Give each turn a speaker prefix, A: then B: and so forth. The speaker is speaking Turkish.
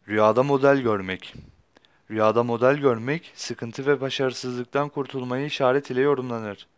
A: Rüyada model görmek. Rüyada model görmek, sıkıntı ve başarısızlıktan kurtulmayı işaret ile yorumlanır.